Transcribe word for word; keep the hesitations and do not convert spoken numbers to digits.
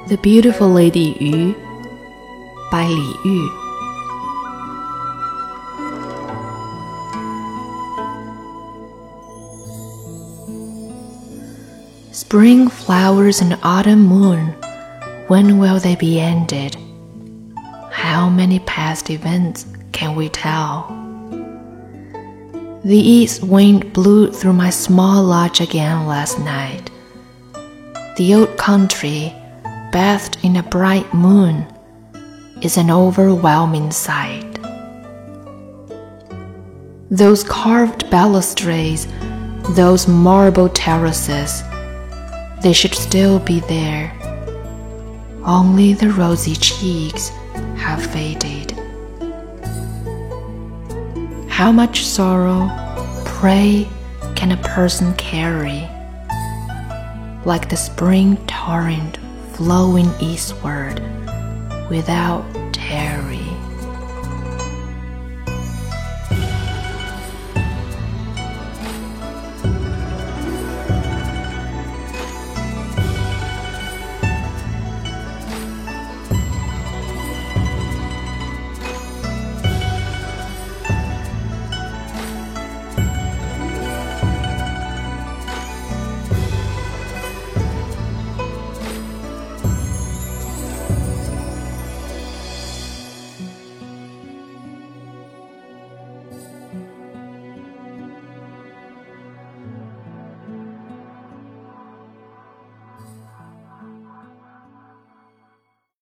The Beautiful Lady Yu by Li Yu. Spring flowers and autumn moon, when will they be ended? How many past events can we tell? The east wind blew through my small lodge again last night. The old country, bathed in a bright moon, is an overwhelming sight. Those carved balustrades, those marble terraces, they should still be there. Only the rosy cheeks have faded. How much sorrow, pray, can a person carry? Like the spring torrent flowing eastward without tear.